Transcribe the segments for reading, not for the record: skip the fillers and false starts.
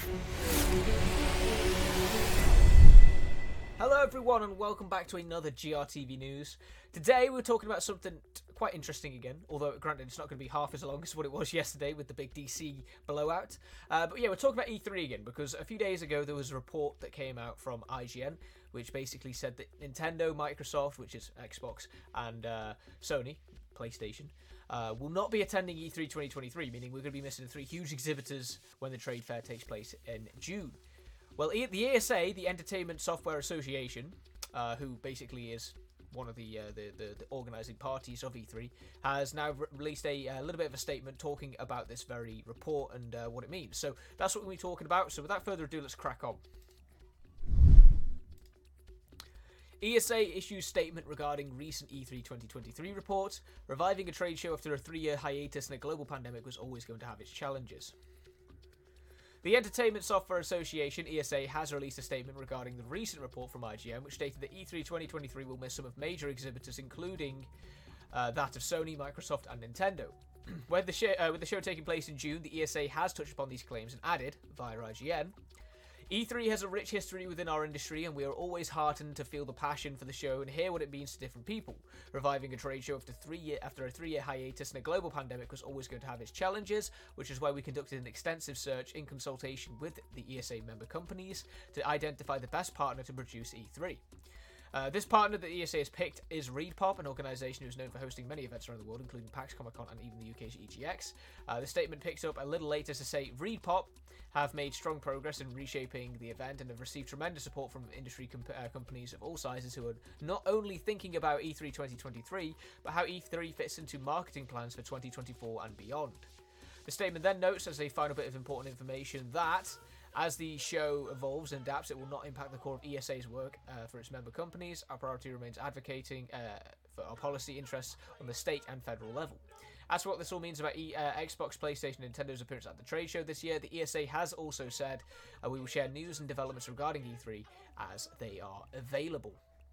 Hello everyone and welcome back to another GRTV News. Today we're talking about something quite interesting again, although granted it's not going to be half as long as what it was yesterday with the big DC blowout. But yeah, we're talking about E3 again because a few days ago there was a report that came out from IGN which basically said that Nintendo, Microsoft, which is Xbox, and Sony, PlayStation, will not be attending E3 2023, meaning we're going to be missing 3 huge exhibitors when the trade fair takes place in June. Well, the ESA, the Entertainment Software Association, who basically is one of the organising parties of E3, has now released a little bit of a statement talking about this very report and what it means. So that's what we'll be talking about. So without further ado, let's crack on. ESA issues statement regarding recent E3 2023 report. Reviving a trade show after a 3-year hiatus and a global pandemic was always going to have its challenges. The Entertainment Software Association, ESA, has released a statement regarding the recent report from IGN, which stated that E3 2023 will miss some of major exhibitors, including that of Sony, Microsoft, and Nintendo. With the show taking place in June, the ESA has touched upon these claims and added, via IGN, E3 has a rich history within our industry, and we are always heartened to feel the passion for the show and hear what it means to different people. Reviving a trade show after a 3-year hiatus and a global pandemic was always going to have its challenges, which is why we conducted an extensive search in consultation with the ESA member companies to identify the best partner to produce E3. This partner that the ESA has picked is ReedPop, an organisation who is known for hosting many events around the world, including PAX, Comic-Con, and even the UK's EGX. The statement picks up a little later to say ReedPop have made strong progress in reshaping the event and have received tremendous support from industry companies of all sizes who are not only thinking about E3 2023, but how E3 fits into marketing plans for 2024 and beyond. The statement then notes, as a final bit of important information, that as the show evolves and adapts, it will not impact the core of ESA's work for its member companies. Our priority remains advocating for our policy interests on the state and federal level. As for what this all means about Xbox, PlayStation, and Nintendo's appearance at the trade show this year, the ESA has also said we will share news and developments regarding E3 as they are available.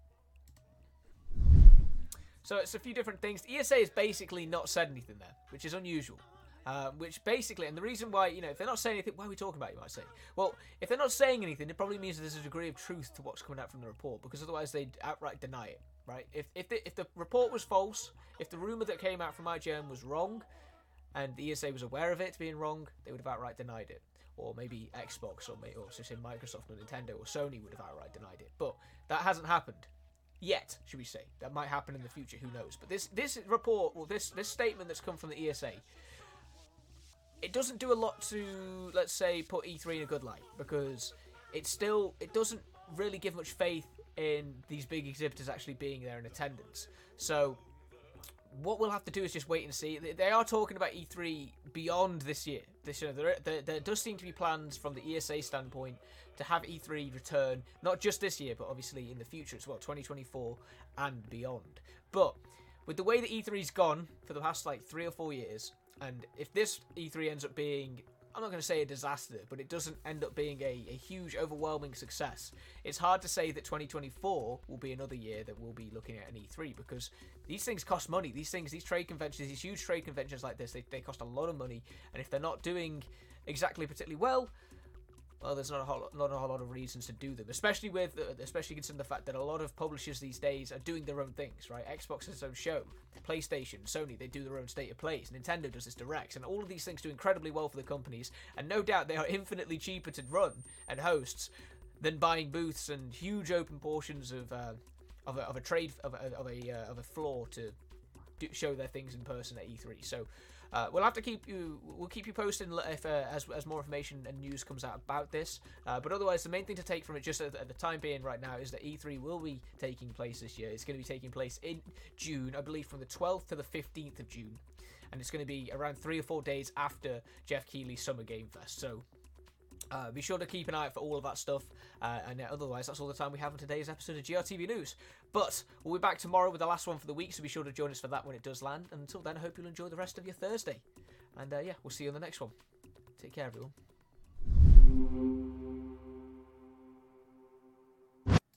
So it's a few different things. The ESA has basically not said anything there, which is unusual. Which basically, and the reason why, if they're not saying anything, why are we talking about it, you might say? Well, if they're not saying anything, it probably means that there's a degree of truth to what's coming out from the report, because otherwise they'd outright deny it, right? If the report was false, if the rumour that came out from IGN was wrong, and the ESA was aware of it being wrong, they would have outright denied it. Or maybe Xbox, or so say Microsoft, or Nintendo, or Sony would have outright denied it. But that hasn't happened. Yet, should we say. That might happen in the future, who knows. But this report, well, this statement that's come from the ESA, it doesn't do a lot to, let's say, put E3 in a good light, because it doesn't really give much faith in these big exhibitors actually being there in attendance. So what we'll have to do is just wait and see. They are talking about E3 beyond this year. There does seem to be plans from the ESA standpoint to have E3 return, not just this year, but obviously in the future as well, 2024 and beyond. But with the way that E3's gone for the past 3 or 4 years, and if this E3 ends up being, I'm not going to say a disaster, but it doesn't end up being a huge, overwhelming success, it's hard to say that 2024 will be another year that we'll be looking at an E3, because these things cost money. These trade conventions, these huge trade conventions like this, they cost a lot of money, and if they're not doing exactly particularly well, there's not a whole lot of reasons to do them, especially considering the fact that a lot of publishers these days are doing their own things, right? Xbox has its own show, PlayStation, Sony, they do their own state of plays, Nintendo does its directs, and all of these things do incredibly well for the companies, and no doubt they are infinitely cheaper to run and host than buying booths and huge open portions of a floor to show their things in person at E3. So we'll keep you posted if as more information and news comes out about this. But otherwise, the main thing to take from it, just at the time being right now, is that E3 will be taking place this year. It's going to be taking place in June, I believe, from the 12th to the 15th of June, and it's going to be around 3 or 4 days after Jeff Keighley's Summer Game Fest. So be sure to keep an eye out for all of that stuff, and otherwise that's all the time we have on today's episode of GRTV News. But we'll be back tomorrow with the last one for the week, so be sure to join us for that when it does land. And until then, I hope you'll enjoy the rest of your Thursday, and we'll see you on the next one. Take care, everyone.